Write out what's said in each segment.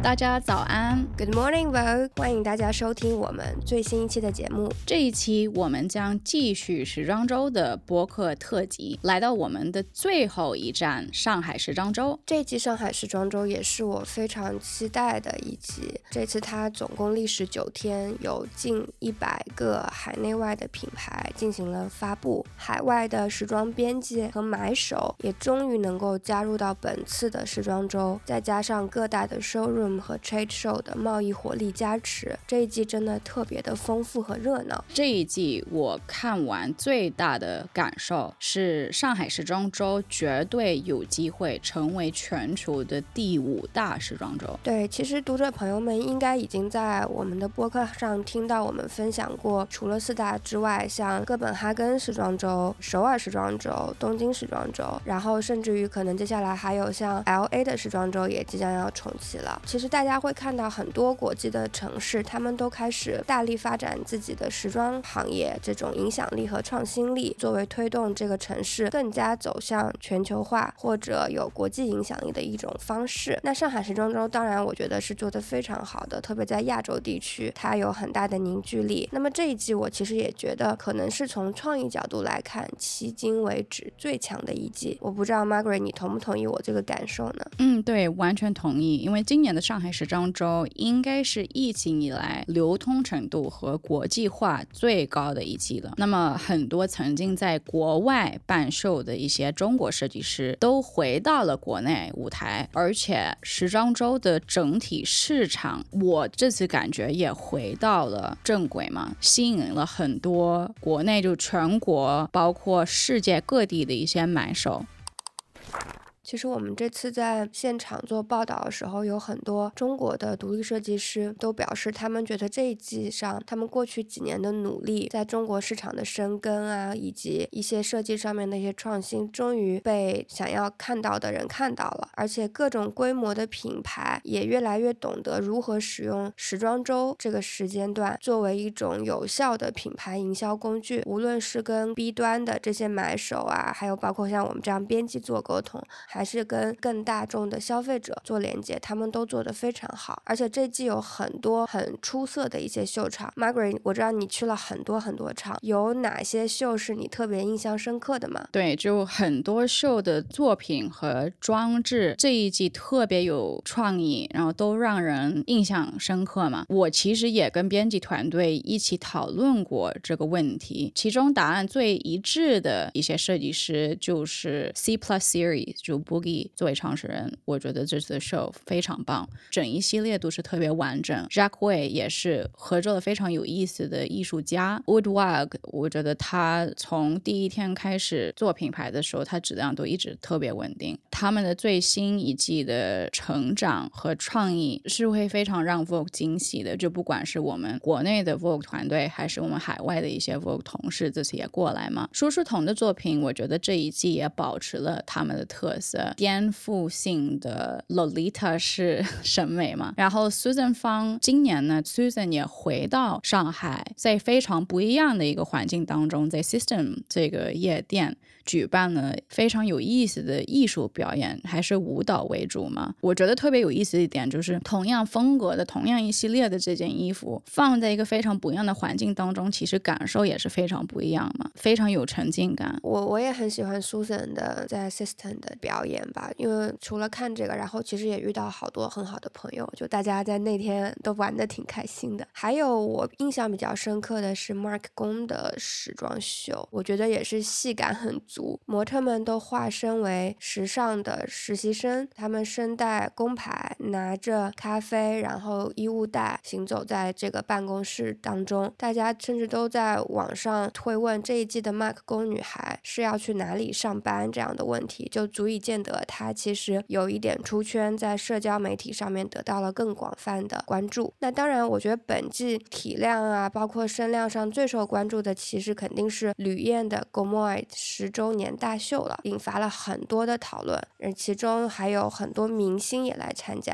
大家早安 Good morning, Vogue！ 欢迎大家收听我们最新一期的节目。 这一期我们将继续时装周的播客特辑，来到我们的最后一站上海时装周。 这一季上海时装周也是我非常期待的一集，这次它总共历时9天，有近100个海内外的品牌进行了发布，海外的时装编辑和买手也终于能够加入到本次的时装周，再加上各大的 showroom 和 trade show 的贸易火力加持，这一季真的特别的丰富和热闹。 这一季我看完最大的感受是，上海时装周绝对有机会成为全球的第5大时装周。 对，其实读者朋友们应该已经在我们的播客上听到我们分享过，除了4大之外，像哥本哈根时装周、首尔时装周、东京时装周，然后甚至于可能接下来还有像 LA 的时装周也即将要重启了。其实大家会看到很多国际的城市，他们都开始大力发展自己的时装行业，这种影响力和创新力作为推动这个城市更加走向全球化或者有国际影响力的一种方式。那上海时装周当然我觉得是做得非常好的，特别在亚洲地区它有很大的凝聚力。那么这一季我其实也觉得可能是从创意角度来看迄今为止最强的一季。我不知道 Margaret 你同不同意我这个感受呢？ 对，完全同意。因为今年的上海时装周应该是疫情以来流通程度和国际化最高的一季了。那么很多曾经在国外办秀的一些中国设计师都回到了国内舞台，而且时装周的整体市场我这次感觉也回到了正轨嘛，吸引了很多国内就全国包括世界各地的一些买手。 其实我们这次在现场做报道的时候，有很多中国的独立设计师都表示，他们觉得这一季上他们过去几年的努力，在中国市场的深耕啊，以及一些设计上面的一些创新，终于被想要看到的人看到了。而且各种规模的品牌也越来越懂得如何使用时装周这个时间段作为一种有效的品牌营销工具，无论是跟 B 端的这些买手啊，还有包括像我们这样编辑做沟通，还是跟更大众的消费者做连接，他们都做得非常好。而且这季有很多很出色的一些秀场。 Margaret 我知道你去了很多场，有哪些秀是你特别印象深刻的吗？ 对，就很多秀的作品和装置这一季特别有创意，然后都让人印象深刻嘛。我其实也跟编辑团队一起讨论过这个问题，其中答案最一致的一些设计师就是 C+ Series 就 Boogie 作为创始人，我觉得这次的 show 非常棒，整一系列都是特别完整。 Jack Way 也是合作了非常有意思的艺术家 Woodwag， 我觉得他从第一天开始做品牌的时候，他质量都一直特别稳定。他们的最新一季的成长和创意是会非常让 Vogue 惊喜的，就不管是我们国内的 Vogue 团队还是我们海外的一些 Vogue 同事这次也过来嘛。舒适彤的作品我觉得这一季也保持了他们的特色，颠覆性的 Lolita 式审美嘛。然后 Susan 方今年呢 Susan 也回到上海，在非常不一样的一个环境当中，在 System 这个夜店举办了非常有意思的艺术表演，还是舞蹈为主嘛。我觉得特别有意思的一点就是同样风格的同样一系列的这件衣服放在一个非常不一样的环境当中，其实感受也是非常不一样嘛，非常有沉浸感。 我也很喜欢 Susan 的在 System 的表演吧，因为除了看这个，然后其实也遇到好多很好的朋友，就大家在那天都玩得挺开心的。还有我印象比较深刻的是 Mark 宫的时装秀，我觉得也是戏感很足，模特们都化身为时尚的实习生，他们身带工牌，拿着咖啡然后衣物袋行走在这个办公室当中，大家甚至都在网上推问这一季的 Mark 宫女孩是要去哪里上班这样的问题，就足以见得她其实有一点出圈，在社交媒体上面得到了更广泛的关注。那当然我觉得本季体量啊包括声量上最受关注的其实肯定是吕燕的 Gomoy 10周年大秀了，引发了很多的讨论，其中还有很多明星也来参加，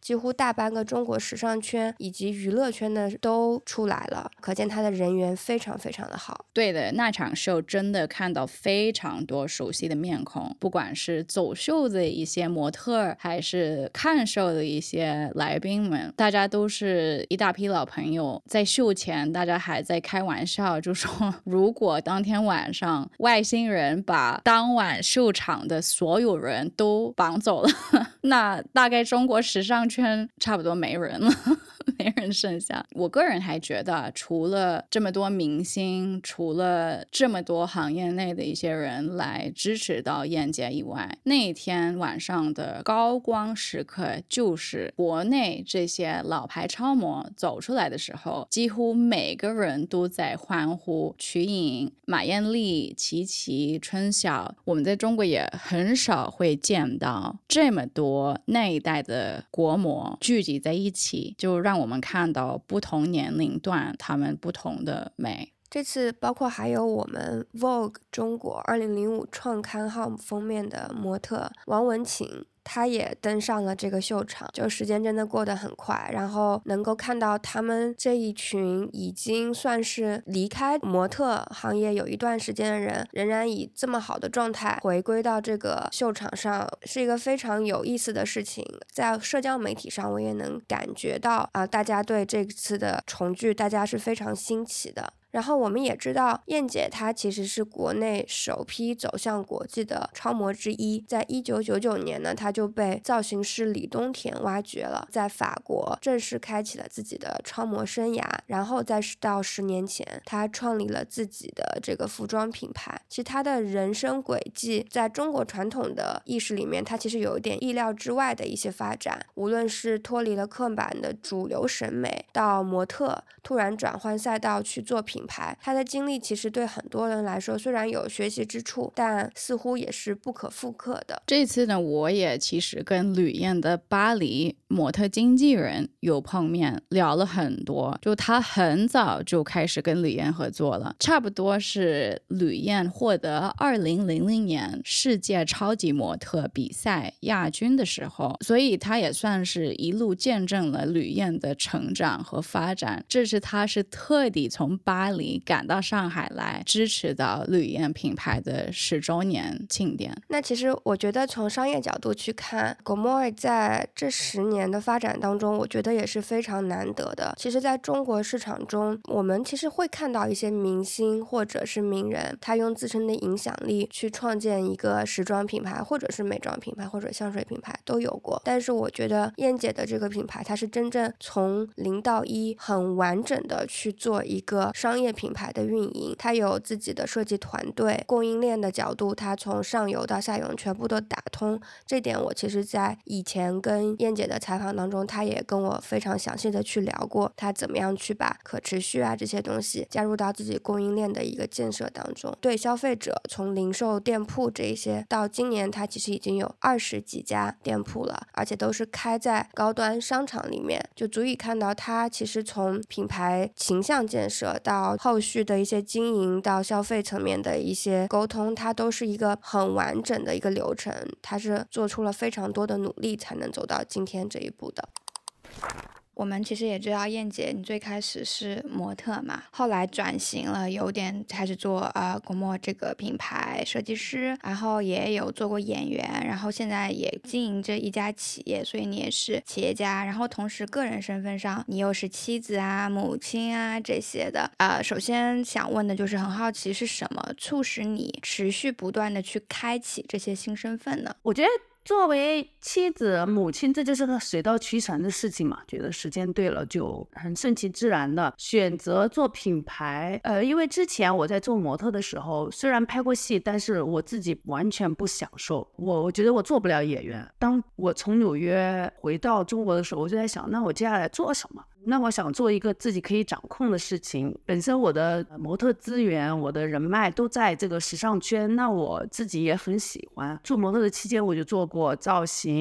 几乎大半个中国时尚圈以及娱乐圈的都出来了，可见他的人缘非常非常的好。 对的，那场秀真的看到非常多熟悉的面孔，不管是走秀的一些模特，还是看秀的一些来宾们，大家都是一大批老朋友。在秀前大家还在开玩笑，就说如果当天晚上外星人把当晚秀场的所有人都绑走了那大概中国时尚圈差不多没人了没人剩下。我个人还觉得，除了这么多明星，除了这么多行业内的一些人来支持到燕姐以外，那一天晚上的高光时刻就是国内这些老牌超模走出来的时候，几乎每个人都在欢呼瞿颖、马艳丽、琪琪、春晓。我们在中国也很少会见到这么多那一代的国模聚集在一起，就让我们看到不同年龄段他们不同的美。 这次包括还有我们 Vogue 中国2005创刊号封面的模特王文琴，他也登上了这个秀场，就时间真的过得很快，然后能够看到他们这一群已经算是离开模特行业有一段时间的人，仍然以这么好的状态回归到这个秀场上，是一个非常有意思的事情。在社交媒体上我也能感觉到大家对这次的重聚大家是非常新奇的。然后我们也知道燕姐她其实是国内首批走向国际的超模之一，在1999年呢，她就被造型师李东田挖掘了，在法国正式开启了自己的超模生涯，然后再到10年前她创立了自己的这个服装品牌。其实她的人生轨迹在中国传统的意识里面，她其实有一点意料之外的一些发展，无论是脱离了刻板的主流审美，到模特突然转换赛道去做品牌，他的经历其实对很多人来说虽然有学习之处，但似乎也是不可复刻的。 这次呢，我也其实跟吕燕的巴黎模特经纪人有碰面，聊了很多。就他很早就开始跟吕燕合作了，差不多是吕燕获得2000年世界超级模特比赛亚军的时候，所以他也算是一路见证了吕燕的成长和发展。这是他是特地从巴黎赶到上海来支持到吕燕品牌的10周年庆典。 那其实我觉得从商业角度去看 Gomore 在这10年的发展当中，我觉得也是非常难得的。其实在中国市场中，我们其实会看到一些明星或者是名人，他用自身的影响力去创建一个时装品牌，或者是美妆品牌，或者香水品牌都有过。但是我觉得燕姐的这个品牌，它是真正从0到1很完整的去做一个商业品牌的运营，它有自己的设计团队，供应链的角度它从上游到下游全部都打通。这点我其实在以前跟燕姐的采访当中，她也跟我非常详细的去聊过，她怎么样去把可持续这些东西加入到自己供应链的一个建设当中。对消费者，从零售店铺这一些，到今年它其实已经有20几家店铺了，而且都是开在高端商场里面，就足以看到它其实从品牌形象建设到后续的一些经营，到消费层面的一些沟通，它都是一个很完整的一个流程，它是做出了非常多的努力才能走到今天这一步的。我们其实也知道燕姐你最开始是模特嘛，后来转型了，有点开始做Gomore 这个品牌设计师，然后也有做过演员，然后现在也经营着一家企业，所以你也是企业家，然后同时个人身份上你又是妻子母亲这些的。首先想问的就是很好奇是什么促使你持续不断的去开启这些新身份呢？ 我觉得作为妻子母亲，这就是个水到渠成的事情嘛，觉得时间对了就很顺其自然的选择做品牌。因为之前我在做模特的时候，虽然拍过戏，但是我自己完全不享受，我觉得我做不了演员。当我从纽约回到中国的时候，我就在想，那我接下来做什么？那我想做一个自己可以掌控的事情，本身我的模特资源我的人脉都在这个时尚圈，那我自己也很喜欢。做模特的期间我就做过造型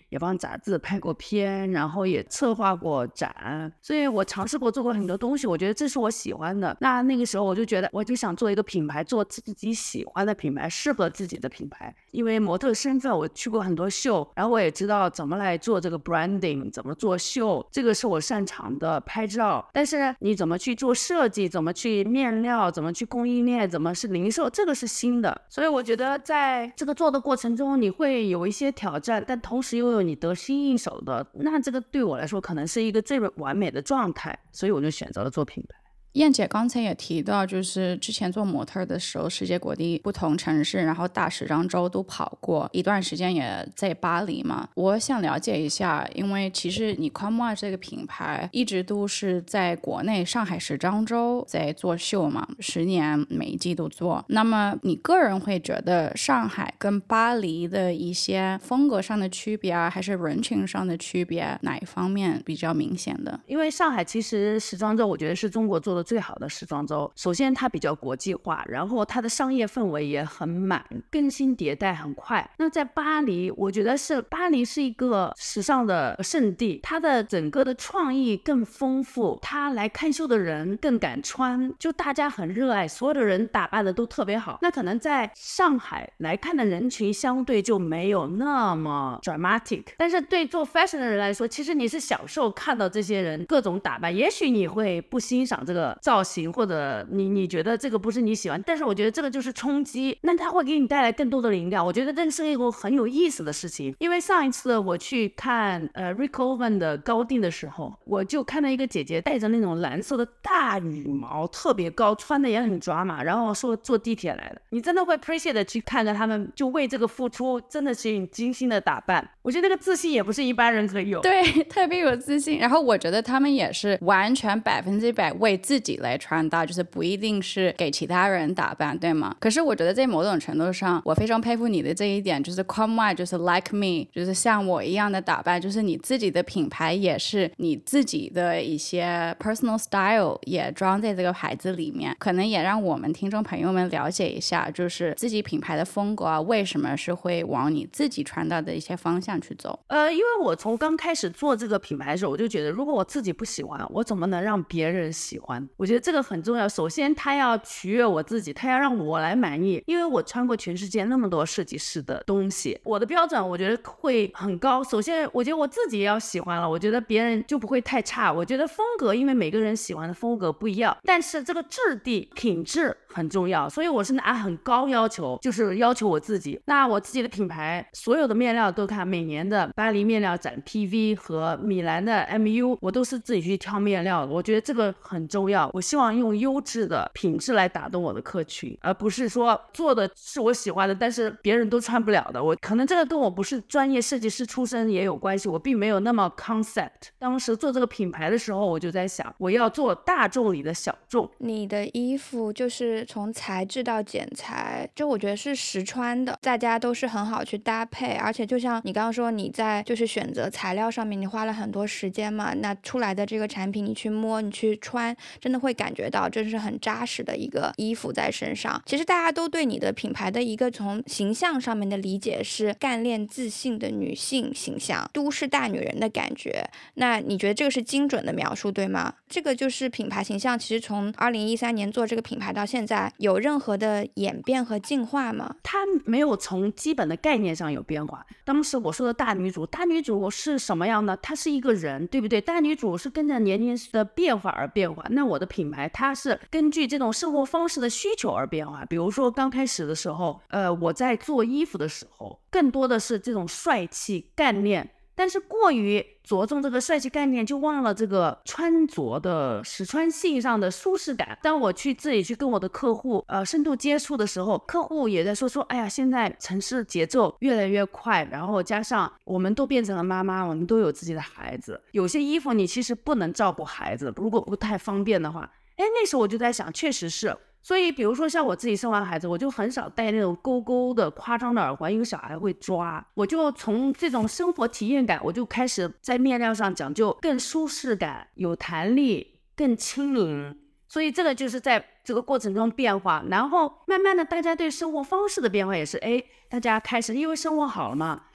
也帮杂志拍过片，然后也策划过展，所以我尝试过做过很多东西，我觉得这是我喜欢的。那个时候我就觉得我就想做一个品牌，做自己喜欢的品牌，适合自己的品牌。因为模特身份我去过很多秀，然后我也知道怎么来做这个 branding， 怎么做秀，这个是我擅长的，拍照。但是你怎么去做设计，怎么去面料，怎么去供应链，怎么是零售，这个是新的。所以我觉得在这个做的过程中你会有一些挑战，但同时又有你得心应手的，那这个对我来说可能是一个最完美的状态，所以我就选择了做品牌。 燕姐刚才也提到，就是之前做模特的时候，世界各地不同城市，然后大时装周都跑过一段时间，也在巴黎嘛。我想了解一下，因为其实你 KOMWA 这个品牌一直都是在国内上海时装周在做秀嘛，10年每一季都做。那么你个人会觉得上海跟巴黎的一些风格上的区别啊，还是人群上的区别，哪一方面比较明显的？ 因为上海其实时装周我觉得是中国做的最好的时装周，首先它比较国际化，然后它的商业氛围也很满，更新迭代很快。那在巴黎，我觉得巴黎是一个时尚的圣地，它的整个的创意更丰富，它来看秀的人更敢穿，就大家很热爱，所有的人打扮的都特别好。那可能在上海来看的人群相对就没有那么 dramatic， 但是对做 fashion 的人来说，其实你是享受看到这些人各种打扮，也许你会不欣赏这个造型，或者你觉得这个不是你喜欢，但是我觉得这个就是冲击，那它会给你带来更多的灵感。我觉得这是一个很有意思的事情。因为上一次我去看Rick Owens 的高定的时候，我就看到一个姐姐带着那种蓝色的大羽毛，特别高，穿的也很抓马，然后说坐地铁来的，你真的会 appreciate 的去看着他们就为这个付出，真的是很精心的打扮。我觉得那个自信也不是一般人可以有， 对，特别有自信。然后我觉得他们也是完全100%为自己来穿搭，就是不一定是给其他人打扮，对吗？可是我觉得在某种程度上，我非常佩服你的这一点，就是 KOMWA 就是 like me， 就是像我一样的打扮，就是你自己的品牌也是你自己的一些 personal style 也装在这个牌子里面，可能也让我们听众朋友们了解一下，就是自己品牌的风格啊，为什么是会往你自己穿搭的一些方向去走。 因为我从刚开始做这个品牌的时候，我就觉得如果我自己不喜欢，我怎么能让别人喜欢？我觉得这个很重要。首先他要取悦我自己，他要让我来满意，因为我穿过全世界那么多设计师的东西，我的标准我觉得会很高。首先我觉得我自己也要喜欢了，我觉得别人就不会太差。我觉得风格，因为每个人喜欢的风格不一样，但是这个质地品质很重要，所以我是拿很高要求，就是要求我自己。那我自己的品牌所有的面料都看每年的巴黎面料展 PV 和米兰的 MU， 我都是自己去挑面料的，我觉得这个很重要。我希望用优质的品质来打动我的客群，而不是说做的是我喜欢的但是别人都穿不了的。我可能这个跟我不是专业设计师出身也有关系，我并没有那么 concept。 当时做这个品牌的时候，我就在想我要做大众里的小众。 你的衣服就是从材质到剪裁，就我觉得是实穿的，大家都是很好去搭配。而且就像你刚刚说，你在就是选择材料上面你花了很多时间嘛，那出来的这个产品你去摸你去穿，真的会感觉到这是很扎实的一个衣服在身上。其实大家都对你的品牌的一个从形象上面的理解是干练自信的女性形象，都市大女人的感觉。那你觉得这个是精准的描述对吗？这个就是品牌形象，其实从2013年做这个品牌到现在有任何的演变和进化吗？ 它没有从基本的概念上有变化。当时我说的大女主是什么样呢？她是一个人，对不对？大女主是跟着年龄的变化而变化，那我的品牌它是根据这种生活方式的需求而变化。比如说刚开始的时候我在做衣服的时候更多的是这种帅气干练，但是过于着重这个帅气概念，就忘了这个穿着的实穿性上的舒适感。当我去自己去跟我的客户深度接触的时候，客户也在说哎呀，现在城市节奏越来越快，然后加上我们都变成了妈妈，我们都有自己的孩子，有些衣服你其实不能照顾孩子，如果不太方便的话，那时候我就在想，确实是。所以比如说像我自己生完孩子，我就很少戴那种勾勾的夸张的耳环，因为小孩会抓。我就从这种生活体验感，我就开始在面料上讲究更舒适感，有弹力，更轻盈。所以这个就是在这个过程中变化，然后慢慢的大家对生活方式的变化也是大家开始因为生活好了嘛，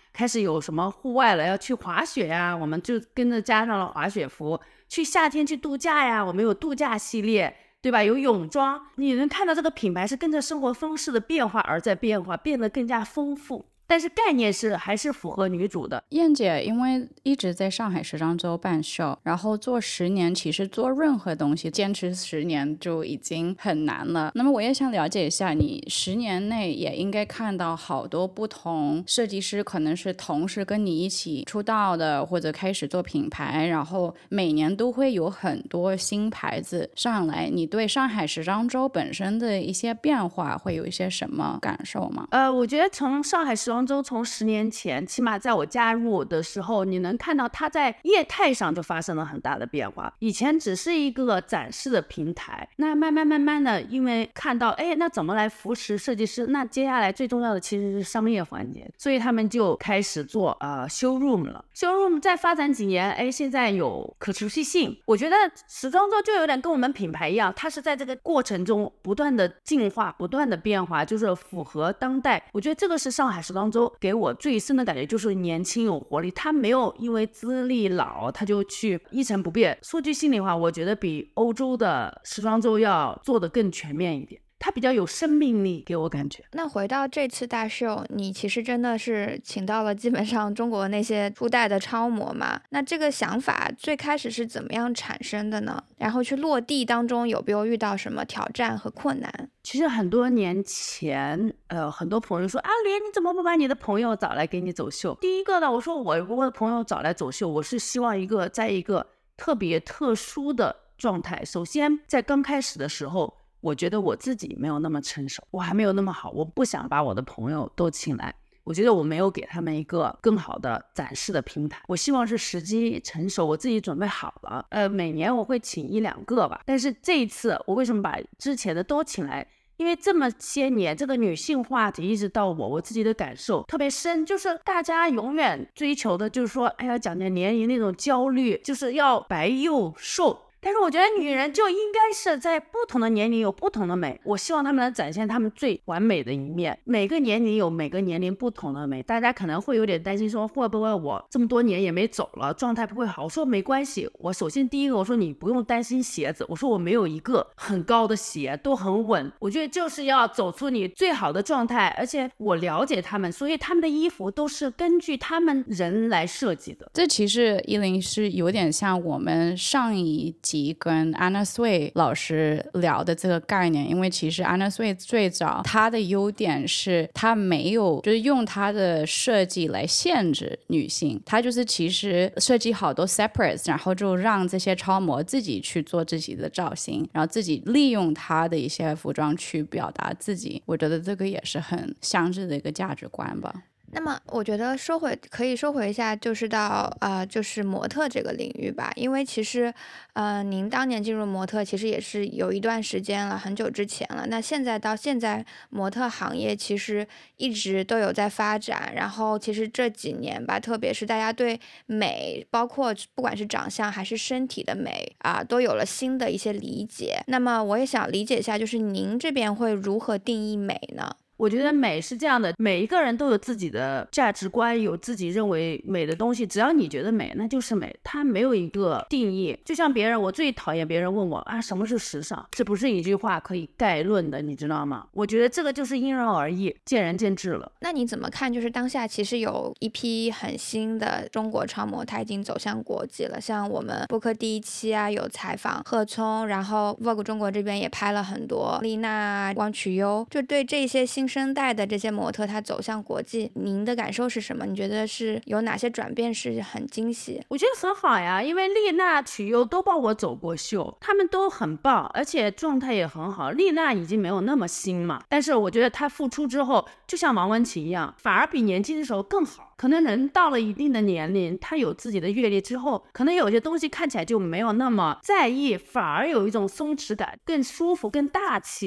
开始有什么户外了，要去滑雪呀，我们就跟着加上了滑雪服。去夏天去度假呀，我们有度假系列，对吧？有泳装，你能看到这个品牌是跟着生活方式的变化而在变化，变得更加丰富。但是概念是还是符合女主的。 燕姐因为一直在上海时装周办秀，然后做10年，其实做任何东西坚持10年就已经很难了。那么我也想了解一下，你10年内也应该看到好多不同设计师，可能是同时跟你一起出道的，或者开始做品牌，然后每年都会有很多新牌子上来。你对上海时装周本身的一些变化会有一些什么感受吗？ 我觉得从上海时装周从10年前，起码在我加入的时候，你能看到它在业态上就发生了很大的变化。以前只是一个展示的平台，那慢慢的，因为看到那怎么来扶持设计师，那接下来最重要的其实是商业环节，所以他们就开始做showroom 了。showroom 再发展几年，现在有可持续性。我觉得时装周就有点跟我们品牌一样，它是在这个过程中不断的进化，不断的变化，就是符合当代。我觉得这个是上海时装周给我最深的感觉，就是年轻有活力，他没有因为资历老他就去一成不变。说句心里话，我觉得比欧洲的时装周要做得更全面一点，它比较有生命力，给我感觉。 那回到这次大秀，你其实真的是请到了基本上中国那些初代的超模嘛？那这个想法最开始是怎么样产生的呢？然后去落地当中有没有遇到什么挑战和困难？ 其实很多年前，很多朋友说阿莲，你怎么不把你的朋友找来给你走秀？第一个呢，我说我的朋友找来走秀，我是希望在一个特别特殊的状态。首先，在刚开始的时候，我觉得我自己没有那么成熟，我还没有那么好，我不想把我的朋友都请来。我觉得我没有给他们一个更好的展示的平台，我希望是时机成熟，我自己准备好了。每年我会请1-2个吧，但是这一次我为什么把之前的都请来？因为这么些年，这个女性话题一直到我自己的感受特别深，就是大家永远追求的就是说，讲点年龄那种焦虑，就是要白又瘦。但是我觉得女人就应该是在不同的年龄有不同的美，我希望她们能展现她们最完美的一面。每个年龄有每个年龄不同的美，大家可能会有点担心说会不会我这么多年也没走了，状态不会好。我说没关系，我首先第一个我说你不用担心鞋子，我说我没有一个很高的鞋，都很稳。我觉得就是要走出你最好的状态，而且我了解他们，所以他们的衣服都是根据他们人来设计的。 这其实10是有点像我们上一集跟 Anna Sui 老师聊的这个概念，因为其实 Anna Sui 最早她的优点是她没有就是用她的设计来限制女性，她就是其实设计好多 separates， 然后就让这些超模自己去做自己的造型，然后自己利用她的一些服装去表达自己。我觉得这个也是很相似的一个价值观吧。 那么我觉得可以说回一下，就是到就是模特这个领域吧，因为其实您当年进入模特其实也是有一段时间了，很久之前了。那现在到现在，模特行业其实一直都有在发展，然后其实这几年吧，特别是大家对美，包括不管是长相还是身体的美都有了新的一些理解。那么我也想理解一下，就是您这边会如何定义美呢？ 我觉得美是这样的，每一个人都有自己的价值观，有自己认为美的东西，只要你觉得美那就是美，它没有一个定义。就像别人，我最讨厌别人问我什么是时尚，这不是一句话可以概论的，你知道吗？我觉得这个就是因人而异，见仁见智了。 那你怎么看，就是当下其实有一批很新的中国超模，它已经走向国际了，像我们播客第1期有采访贺聪，然后 Vogue 中国这边也拍了很多丽娜、汪曲优，就对这些新生代的这些模特他走向国际，您的感受是什么？你觉得是有哪些转变是很惊喜？ 我觉得很好呀，因为丽娜、曲优都帮我走过秀，他们都很棒，而且状态也很好。丽娜已经没有那么新嘛，但是我觉得她复出之后，就像王文琪一样，反而比年轻的时候更好。可能人到了一定的年龄，他有自己的阅历之后，可能有些东西看起来就没有那么在意，反而有一种松弛感，更舒服更大气了。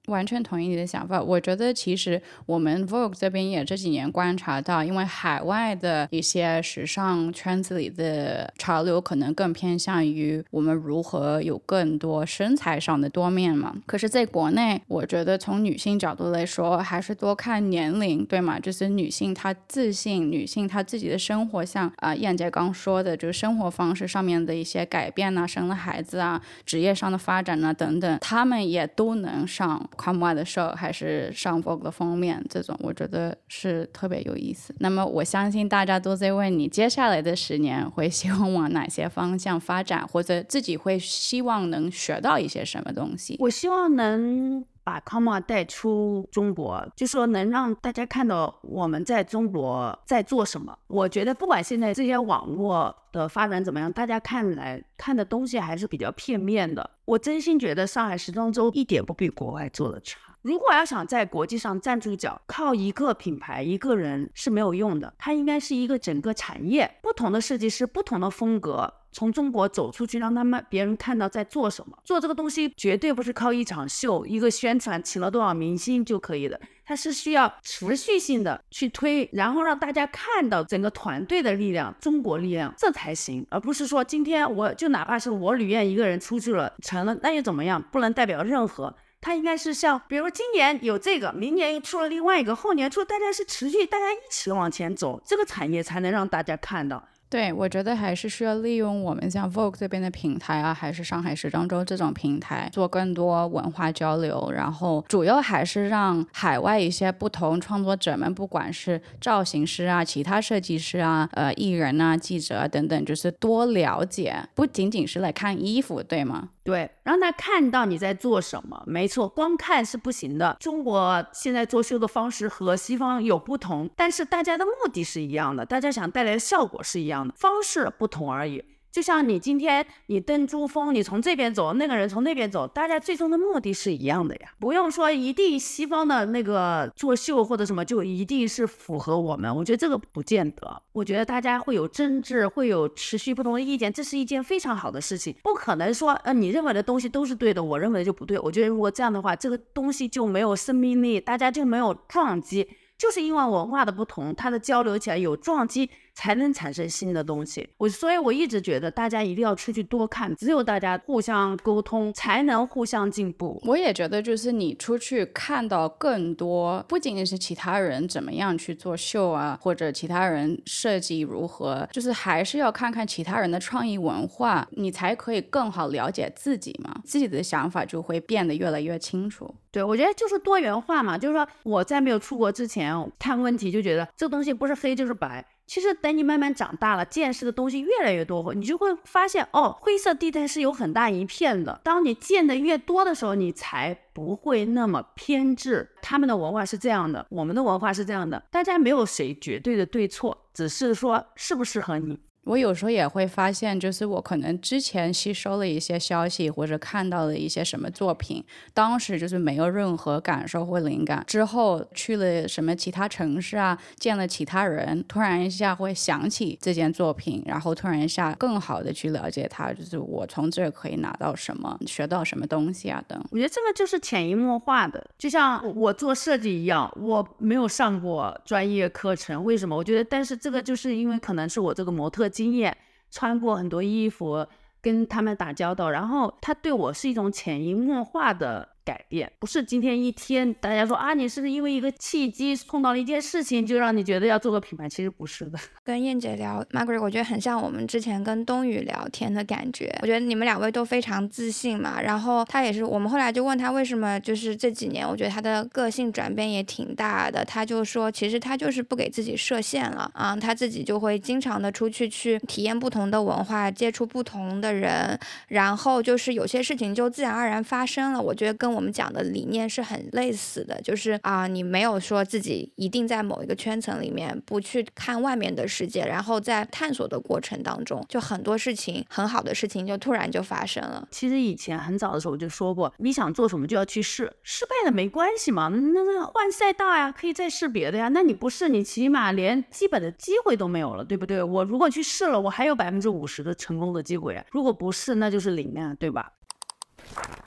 完全同意你的想法。我觉得其实我们 Vogue 这边也这几年观察到，因为海外的一些时尚圈子里的潮流可能更偏向于我们如何有更多身材上的多面嘛。可是在国内，我觉得从女性角度来说，还是多看年龄，对吗？就是女性她自信，女性她自己的生活，像燕姐刚说的，就是生活方式上面的一些改变啊，生了孩子啊，职业上的发展啊等等，她们也都能上Comme的 show 还是上 Vogue 的封面，这种我觉得是特别有意思。那么我相信大家都在问你接下来的10年会希望往哪些方向发展，或者自己会希望能学到一些什么东西。 我希望能把 Comme 带出中国，就说能让大家看到我们在中国在做什么。我觉得不管现在这些网络的发展怎么样，大家看的东西还是比较片面的。我真心觉得上海时装周一点不比国外做的差。如果要想在国际上站住脚，靠一个品牌一个人是没有用的，它应该是一个整个产业，不同的设计师，不同的风格，从中国走出去，让别人看到在做什么。做这个东西绝对不是靠一场秀一个宣传请了多少明星就可以的，它是需要持续性的去推，然后让大家看到整个团队的力量，中国力量，这才行。而不是说今天我就哪怕是我吕燕一个人出去了成了，那又怎么样，不能代表任何。它应该是像比如今年有这个，明年又出了另外一个，后年出，大家是持续大家一起往前走，这个产业才能让大家看到。 对，我觉得还是需要利用我们像 Vogue 这边的平台啊，还是上海时装周这种平台，做更多文化交流，然后主要还是让海外一些不同创作者们，不管是造型师啊、其他设计师啊、艺人啊、记者啊等等，就是多了解，不仅仅是来看衣服，对吗？ 对，让他看到你在做什么。没错，光看是不行的。中国现在做秀的方式和西方有不同，但是大家的目的是一样的，大家想带来的效果是一样的，方式不同而已。就像你今天你登珠峰，你从这边走，那个人从那边走，大家最终的目的是一样的呀。不用说一定西方的那个做秀或者什么就一定是符合我们，我觉得这个不见得。我觉得大家会有争执，会有持续不同的意见，这是一件非常好的事情。不可能说你认为的东西都是对的，我认为的就不对。我觉得如果这样的话，这个东西就没有生命力，大家就没有撞击。就是因为文化的不同，它的交流起来有撞击，才能产生新的东西。所以我一直觉得大家一定要出去多看，只有大家互相沟通，才能互相进步。 我也觉得，就是你出去看到更多，不仅仅是其他人怎么样去做秀啊，或者其他人设计如何，就是还是要看看其他人的创意文化，你才可以更好了解自己嘛，自己的想法就会变得越来越清楚。 对，我觉得就是多元化嘛，就是说我在没有出国之前看问题就觉得这个东西不是黑就是白，其实等你慢慢长大了，见识的东西越来越多，你就会发现灰色地带是有很大一片的。当你见的越多的时候，你才不会那么偏执。他们的文化是这样的，我们的文化是这样的，大家没有谁绝对的对错，只是说适不适合你。 我有时候也会发现，就是我可能之前吸收了一些消息，或者看到了一些什么作品，当时就是没有任何感受或灵感，之后去了什么其他城市啊，见了其他人，突然一下会想起这件作品，然后突然一下更好的去了解它，就是我从这可以拿到什么，学到什么东西啊等。 我觉得这个就是潜移默化的，就像我做设计一样，我没有上过专业课程，为什么？我觉得但是这个就是因为可能是我这个模特经验，穿过很多衣服，跟他们打交道，然后他对我是一种潜移默化的改变，不是今天一天大家说你是因为一个契机碰到了一件事情就让你觉得要做个品牌，其实不是的。 跟燕姐聊 Margaret 我觉得很像我们之前跟冬雨聊天的感觉，我觉得你们两位都非常自信嘛，然后他也是，我们后来就问他为什么就是这几年我觉得他的个性转变也挺大的，他就说其实他就是不给自己设限了他自己就会经常的出去体验不同的文化，接触不同的人，然后就是有些事情就自然而然发生了。我觉得跟我们讲的理念是很类似的，就是你没有说自己一定在某一个圈层里面，不去看外面的世界，然后在探索的过程当中，就很多事情很好的事情就突然就发生了。 其实以前很早的时候我就说过，你想做什么就要去试，失败了没关系嘛，那换赛道呀，可以再试别的呀。那你不试，你起码连基本的机会都没有了，对不对？我如果去试了，我还有50%的成功的机会啊，如果不试那就是0啊，对吧？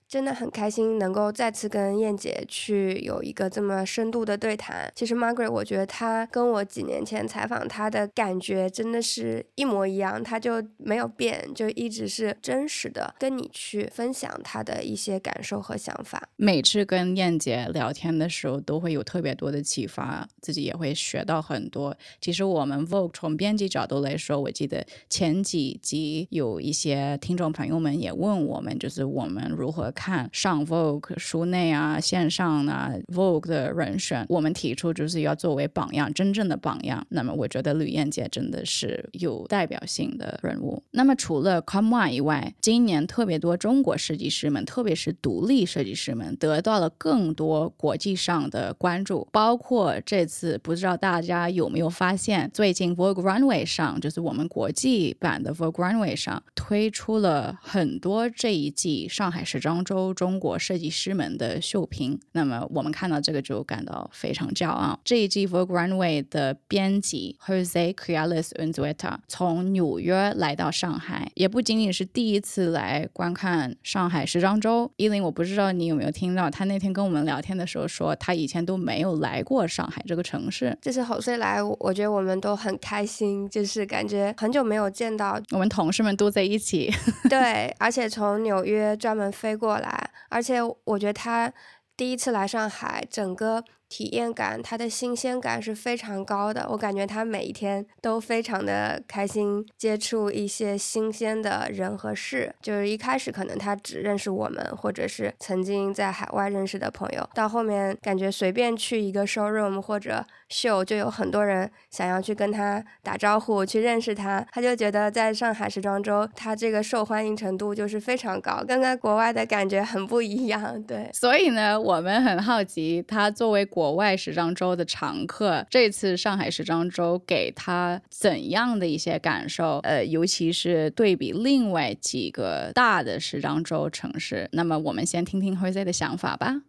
真的很开心能够再次跟燕姐去有一个这么深度的对谈。其实 Margaret 我觉得她跟我几年前采访她的感觉真的是一模一样，她就没有变，就一直是真实的跟你去分享她的一些感受和想法。 每次跟燕姐聊天的时候都会有特别多的启发，自己也会学到很多。其实我们 Vogue 从编辑角度来说，我记得前几集有一些听众朋友们也问我们，就是我们如何看上 Vogue 书内啊、线上啊 Vogue 的人选，我们提出就是要作为榜样，真正的榜样。那么我觉得吕燕姐真的是有代表性的人物。那么除了 COM1 以外，今年特别多中国设计师们，特别是独立设计师们得到了更多国际上的关注，包括这次不知道大家有没有发现，最近 Vogue Runway 上，就是我们国际版的 Vogue Runway 上推出了很多这一季上海时装周中国设计师们的秀评。那么我们看到这个就感到非常骄傲。这一季 Vogue Runway 的编辑 Jose Criales Unzueta 从纽约来到上海，也不仅仅是第一次来观看上海时装周。依林，我不知道你有没有听到，他那天跟我们聊天的时候说，他以前都没有来过上海这个城市。 这次Jose来，我觉得我们都很开心，就是感觉很久没有见到， 我们同事们都在一起。 对，而且从纽约专门飞过来，而且我觉得他第一次来上海，整个体验感，它的新鲜感是非常高的。我感觉他每一天都非常的开心，接触一些新鲜的人和事。就是一开始可能他只认识我们，或者是曾经在海外认识的朋友，到后面感觉随便去一个 showroom 或者秀，就有很多人想要去跟他打招呼，去认识他。他就觉得在上海时装周，他这个受欢迎程度就是非常高，跟国外的感觉很不一样。对， 所以呢，我们很好奇，他作为国外时装周的常客，这次上海时装周给他怎样的一些感受？尤其是对比另外几个大的时装周城市。那么我们先听听 Jose 的想法吧。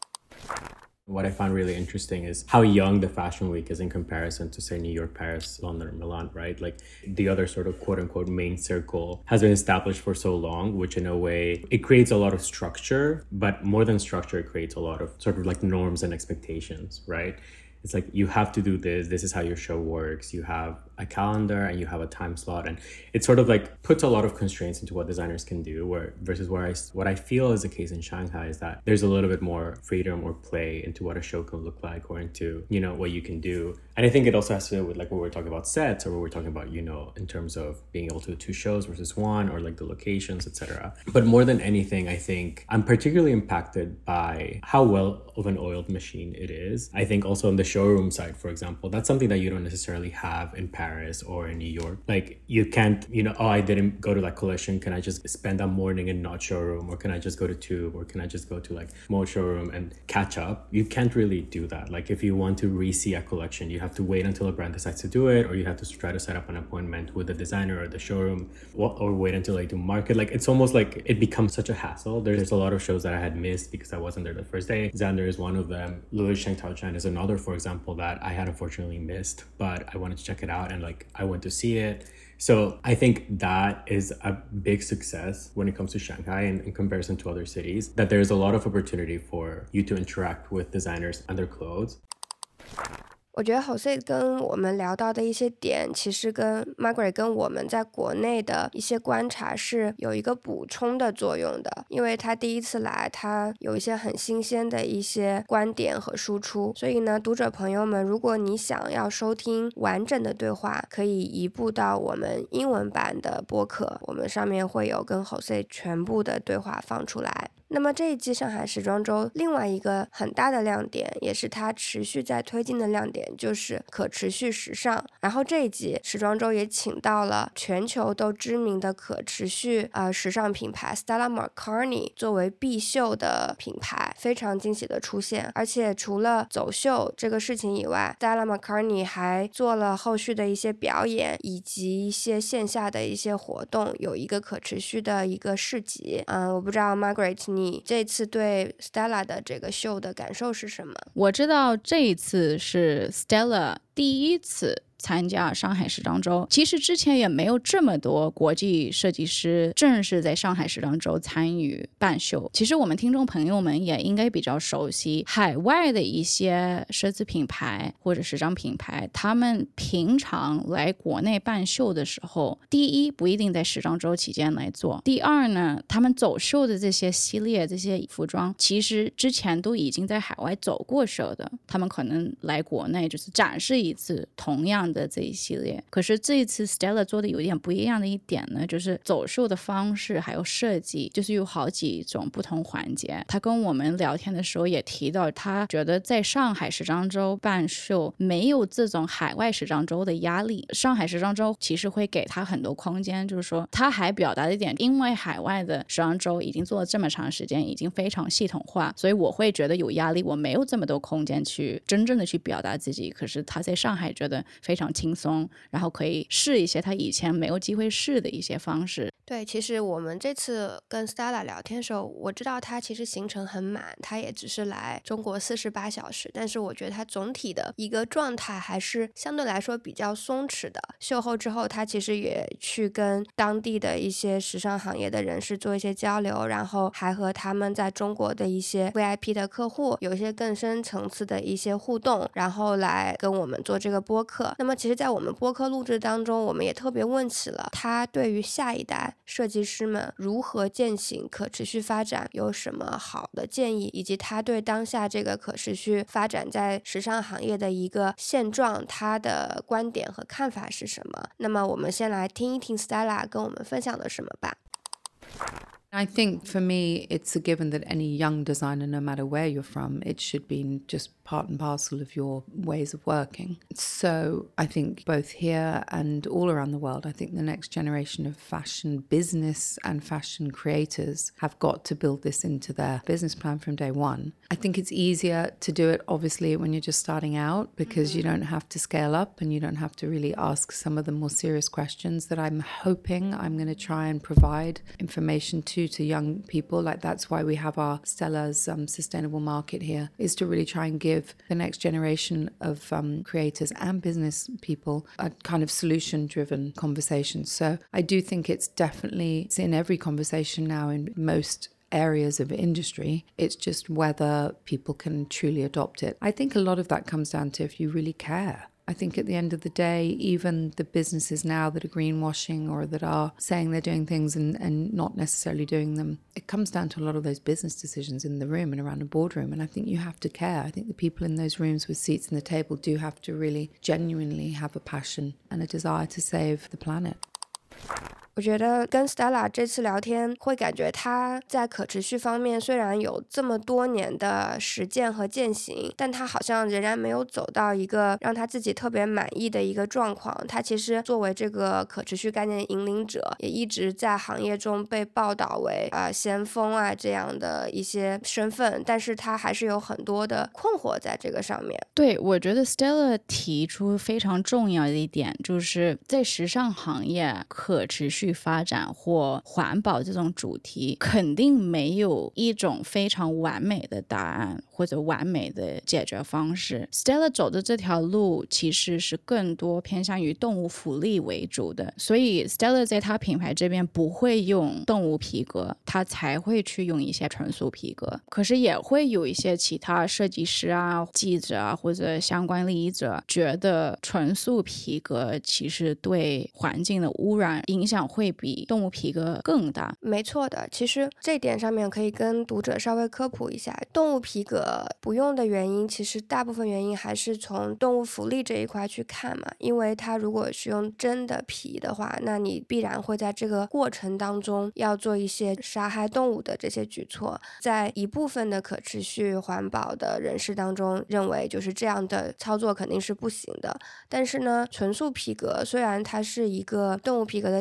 What I found really interesting is how young the Fashion Week is in comparison to, say, New York, Paris, London, or Milan, right? Like the other sort of quote unquote main circle has been established for so long, which in a way, it creates a lot of structure, but more than structure, it creates a lot of sort of like norms and expectations, right? It's like, you have to do this is how your show works. You have a calendar and you have a time slot, and it sort of like puts a lot of constraints into what designers can do, where versus what I feel is the case in Shanghai is that there's a little bit more freedom or play into what a show can look like, or into, you know, what you can do. And I think it also has to do with like when we're talking about sets, or when we're talking about, you know, in terms of being able to do 2 shows versus 1, or like the locations, etc. But more than anything, I think I'm particularly impacted by how well of an oiled machine it is. I think also on the showroom side, for example, that's something that you don't necessarily have in Paris or in New York. Like you can't, you know, oh, I didn't go to that collection, can I just spend a morning in not showroom, or can I just go to Tube, or can I just go to like mode showroom and catch up? You can't really do that. Like if you want to re-see a collection, you have to wait until a brand decides to do it, or you have to try to set up an appointment with the designer or the showroom, or wait until they do market. Like it's almost like it becomes such a hassle. There's a lot of shows that I had missed because I wasn't there the first day. Xander is one of them. Louis Sheng Tao Chan is another, for example, that I had unfortunately missed, but I wanted to check it out, and like I went to see it. So I think that is a big success when it comes to Shanghai, and in comparison to other cities, that there's a lot of opportunity for you to interact with designers and their clothes. 我觉得 Jose 跟我们聊到的一些点，其实跟 Margaret 跟我们在国内的一些观察是有一个补充的作用的，因为他第一次来，他有一些很新鲜的一些观点和输出，所以呢，读者朋友们，如果你想要收听完整的对话，可以移步到我们英文版的播客，我们上面会有跟 Jose 全部的对话放出来。那么这一季上海时装周另外一个很大的亮点，也是它持续在推进的亮点，就是可持续时尚。然后这一季时装周也请到了全球都知名的可持续时尚品牌 Stella McCartney 作为必秀的品牌，非常惊喜的出现。而且除了走秀这个事情以外， Stella McCartney 还做了后续的一些表演，以及一些线下的一些活动，有一个可持续的一个市集。我不知道 Margaret 你这次对 Stella 的这个秀的感受是什么？ 我知道这一次是 Stella 第一次参加上海时装周。其实之前也没有这么多国际设计师正式在上海时装周参与办秀。其实我们听众朋友们也应该比较熟悉海外的一些奢侈品牌或者时装品牌，他们平常来国内办秀的时候，第一不一定在时装周期间来做，第二呢，他们走秀的这些系列这些服装其实之前都已经在海外走过秀的，他们可能来国内就是展示一次同样的这一系列。可是这一次 Stella 做的有点不一样的一点呢，就是走秀的方式还有设计，就是有好几种不同环节。他跟我们聊天的时候也提到，他觉得在上海时装周办秀没有这种海外时装周的压力，上海时装周其实会给他很多空间，就是说他还表达了一点，因为海外的时装周已经做了这么长时间，已经非常系统化，所以我会觉得有压力，我没有这么多空间去真正的去表达自己。可是他在上海觉得非常轻松，然后可以试一些他以前没有机会试的一些方式。 对，其实我们这次跟 Stella 聊天的时候，我知道他其实行程很满，他也只是来中国48小时，但是我觉得他总体的一个状态还是相对来说比较松弛的。秀后之后，他其实也去跟当地的一些时尚行业的人士做一些交流，然后还和他们在中国的一些 VIP 的客户有一些更深层次的一些互动，然后来跟我们做这个播客。那么其实在我们播客录制当中，我们也特别问起了他对于下一代设计师们如何践行可持续发展有什么好的建议，以及他对当下这个可持续发展在时尚行业的一个现状，他的观点和看法是什么。那么我们先来听一听 Stella 跟我们分享的什么吧。 I think for me, it's a given that any young designer, no matter where you're from, it should be just part and parcel of your ways of working. So I think both here and all around the world, I think the next generation of fashion business and fashion creators have got to build this into their business plan from day one. I think it's easier to do it, obviously, when you're just starting out, because you don't have to scale up and you don't have to really ask some of the more serious questions that I'm hoping I'm going to try and provide information to young people. Like that's why we have our Stella's sustainable market here, is to really try and give the next generation of creators and business people a kind of solution-driven conversation. So I do think it's in every conversation now in most areas of industry. It's just whether people can truly adopt it. I think a lot of that comes down to if you really care. I think at the end of the day, even the businesses now that are greenwashing or that are saying they're doing things and not necessarily doing them, it comes down to a lot of those business decisions in the room and around a boardroom. And I think you have to care. I think the people in those rooms with seats in the table do have to really genuinely have a passion and a desire to save the planet. 我觉得跟 Stella 这次聊天会感觉她在可持续方面虽然有这么多年的实践和践行，但她好像仍然没有走到一个让她自己特别满意的一个状况。她其实作为这个可持续概念的引领者，也一直在行业中被报道为先锋啊这样的一些身份，但是她还是有很多的困惑在这个上面。 对，我觉得 Stella 提出非常重要的一点，就是在时尚行业可持续发展或环保这种主题肯定没有一种非常完美的答案或者完美的解决方式。 Stella 走的这条路其实是更多偏向于动物福利为主的，所以 Stella 在他品牌这边不会用动物皮革，他才会去用一些纯素皮革。可是也会有一些其他设计师啊、记者啊或者相关利益者觉得纯素皮革其实对环境的污染影响会比动物皮革更大。 没错的，其实这点上面可以跟读者稍微科普一下，动物皮革不用的原因，其实大部分原因还是从动物福利这一块去看嘛，因为它如果是用真的皮的话，那你必然会在这个过程当中要做一些杀害动物的这些举措，在一部分的可持续环保的人士当中认为就是这样的操作肯定是不行的。但是呢，纯素皮革虽然它是一个动物皮革的替代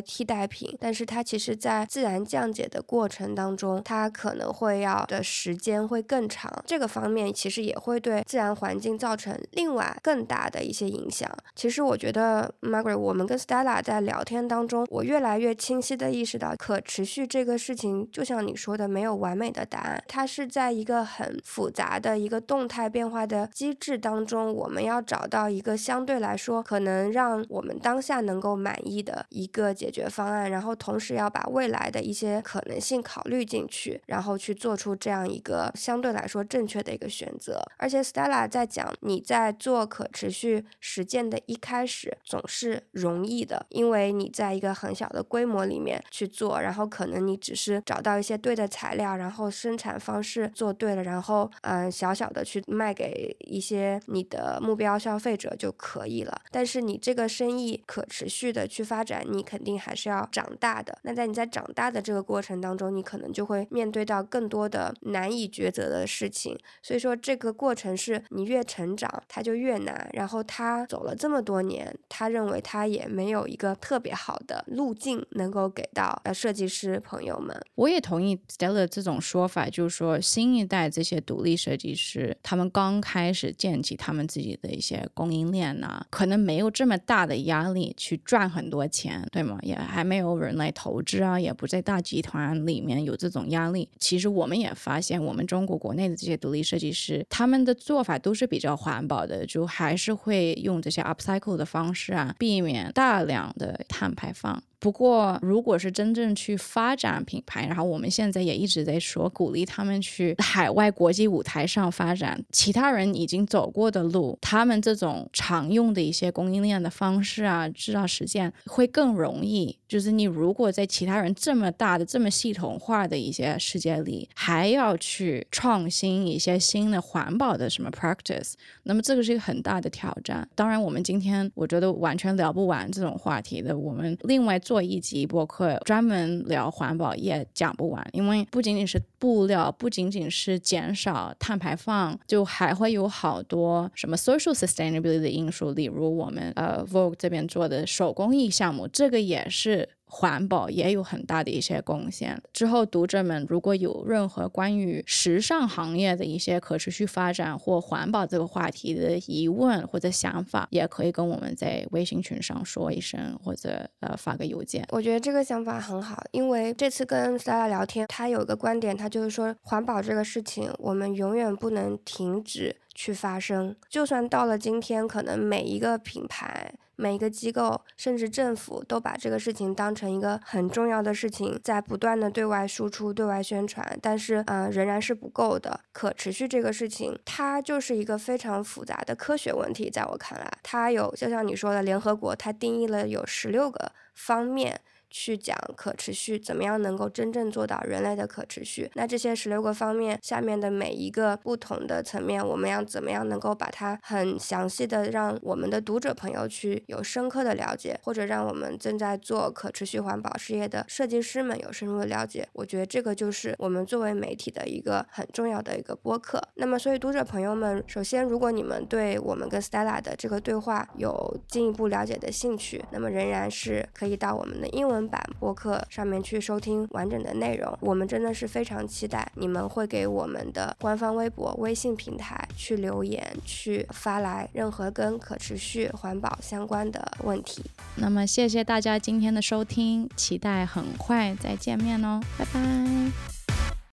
态品，但是它其实在自然降解的过程当中，它可能会要的时间会更长，这个方面其实也会对自然环境造成另外更大的一些影响。其实我觉得 Margaret 我们跟 Stella 在聊天当中，我越来越清晰的意识到可持续这个事情就像你说的没有完美的答案，它是在一个很复杂的一个动态变化的机制当中，我们要找到一个相对来说可能让我们当下能够满意的一个解决方案，然后同时要把未来的一些可能性考虑进去，然后去做出这样一个相对来说正确的一个选择。而且 Stella 在讲你在做可持续实践的一开始总是容易的，因为你在一个很小的规模里面去做，然后可能你只是找到一些对的材料，然后生产方式做对了，然后小小的去卖给一些你的目标消费者就可以了。但是你这个生意可持续的去发展，你肯定还是要长大的。那在你在长大的这个过程当中，你可能就会面对到更多的难以抉择的事情。所以说这个过程是你越成长它就越难，然后他走了这么多年，他认为他也没有一个特别好的路径能够给到设计师朋友们。 我也同意 Stella 这种说法，就是说新一代这些独立设计师，他们刚开始建起他们自己的一些供应链啊，可能没有这么大的压力去赚很多钱，对吗？也还没有人来投资啊，也不在大集团里面有这种压力。其实我们也发现，我们中国国内的这些独立设计师，他们的做法都是比较环保的，就还是会用这些 upcycle 的方式啊，避免大量的碳排放。不过如果是真正去发展品牌，然后我们现在也一直在说鼓励他们去海外国际舞台上发展，其他人已经走过的路，他们这种常用的一些供应链的方式啊，制造实践会更容易。就是你如果在其他人这么大的这么系统化的一些世界里还要去创新一些新的环保的什么 practice， 那么这个是一个很大的挑战。当然我们今天我觉得完全聊不完这种话题的，我们另外做一集播客专门聊环保也讲不完，因为不仅仅是布料，不仅仅是减少碳排放，就还会有好多什么 social sustainability 的因素，例如我们Vogue 这边做的手工艺项目，这个也是环保也有很大的一些贡献。之后读者们如果有任何关于时尚行业的一些可持续发展或环保这个话题的疑问或者想法，也可以跟我们在微信群上说一声，或者发个邮件。 我觉得这个想法很好，因为这次跟 Stella 聊天，他有一个观点，他就是说环保这个事情我们永远不能停止去发生，就算到了今天，可能每一个品牌每一个机构甚至政府都把这个事情当成一个很重要的事情，在不断的对外输出对外宣传，但是仍然是不够的。可持续这个事情它就是一个非常复杂的科学问题，在我看来它有就像你说的联合国它定义了有16个方面去讲可持续怎么样能够真正做到人类的可持续。那这些16个方面下面的每一个不同的层面，我们要怎么样能够把它很详细的让我们的读者朋友去有深刻的了解，或者让我们正在做可持续环保事业的设计师们有深入的了解。我觉得这个就是我们作为媒体的一个很重要的一个播客。那么所以读者朋友们，首先如果你们对我们跟 Stella 的这个对话有进一步了解的兴趣，那么仍然是可以到我们的英文版播客上面去收听完整的内容。我们真的是非常期待你们会给我们的官方微博微信平台去留言，去发来任何跟可持续环保相关的问题。 那么谢谢大家今天的收听，期待很快再见面哦，拜拜。